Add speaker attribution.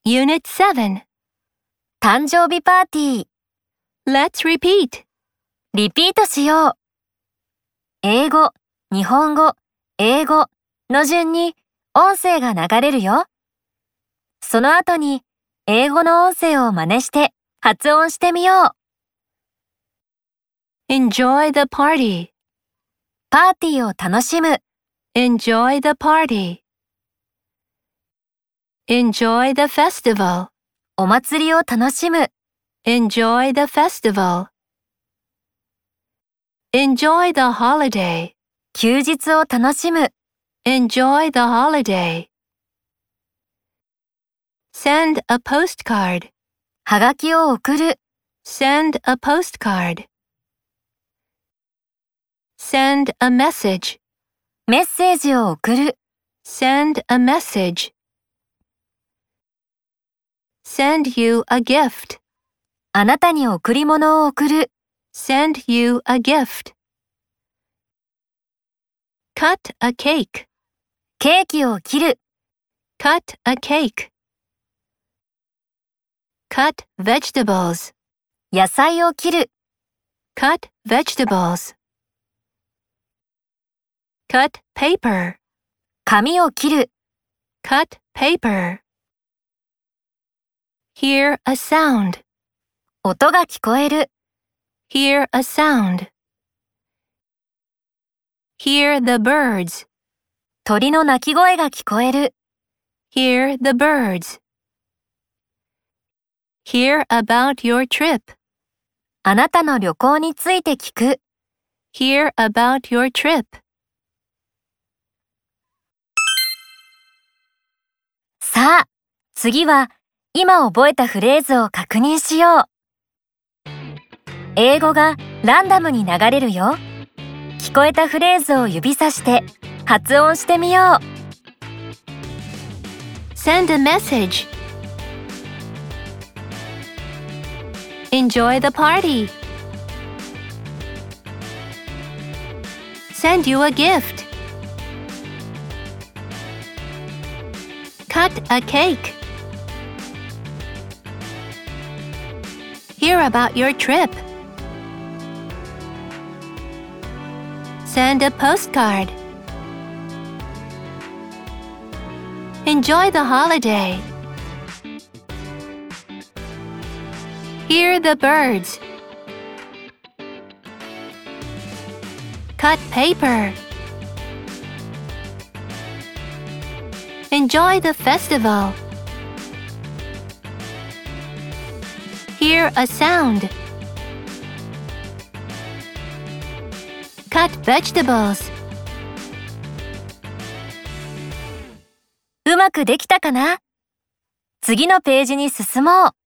Speaker 1: Unit 7.
Speaker 2: 誕生日パーティー。
Speaker 1: Let's repeat.
Speaker 2: リピートしよう。英語、日本語、英語の順に音声が流れるよ。その後に英語の音声を真似して発音してみよう。
Speaker 1: Enjoy the party.
Speaker 2: パーティーを楽しむ。
Speaker 1: Enjoy the party. Enjoy the festival.
Speaker 2: お祭りを楽しむ。
Speaker 1: Enjoy the festival. Enjoy the holiday.
Speaker 2: 休日を楽しむ。
Speaker 1: Enjoy the holiday. Send a postcard.
Speaker 2: はがきを送る。
Speaker 1: Send a postcard. Send a message.
Speaker 2: メッセージを送る。
Speaker 1: Send a message. Send you a gift.
Speaker 2: あなたに贈り物を送る。
Speaker 1: Send you a gift. Cut a cake.
Speaker 2: ケーキを切る。
Speaker 1: Cut a cake. Cut vegetables.
Speaker 2: 野菜を切る。
Speaker 1: Cut vegetables. Cut paper.
Speaker 2: 紙を切る。
Speaker 1: Cut paper. Hear a sound.
Speaker 2: 音が聞こえる。
Speaker 1: Hear a sound. Hear the birds.
Speaker 2: 鳥の鳴き声が聞こえる。
Speaker 1: Hear the birds. Hear about your trip.
Speaker 2: あなたの旅行について聞く。
Speaker 1: Hear about your trip.
Speaker 2: さあ、次は今覚えたフレーズを確認しよう。英語がランダムに流れるよ。聞こえたフレーズを指さして発音してみよう。
Speaker 1: Send a message. Enjoy the party. Send you a gift. Cut a cake. Hear about your trip. Send a postcard. Enjoy the holiday. Hear the birds. Cut paper. Enjoy the festival. Hear a sound. Cut vegetables.
Speaker 2: うまくできたかな？次のページに進もう。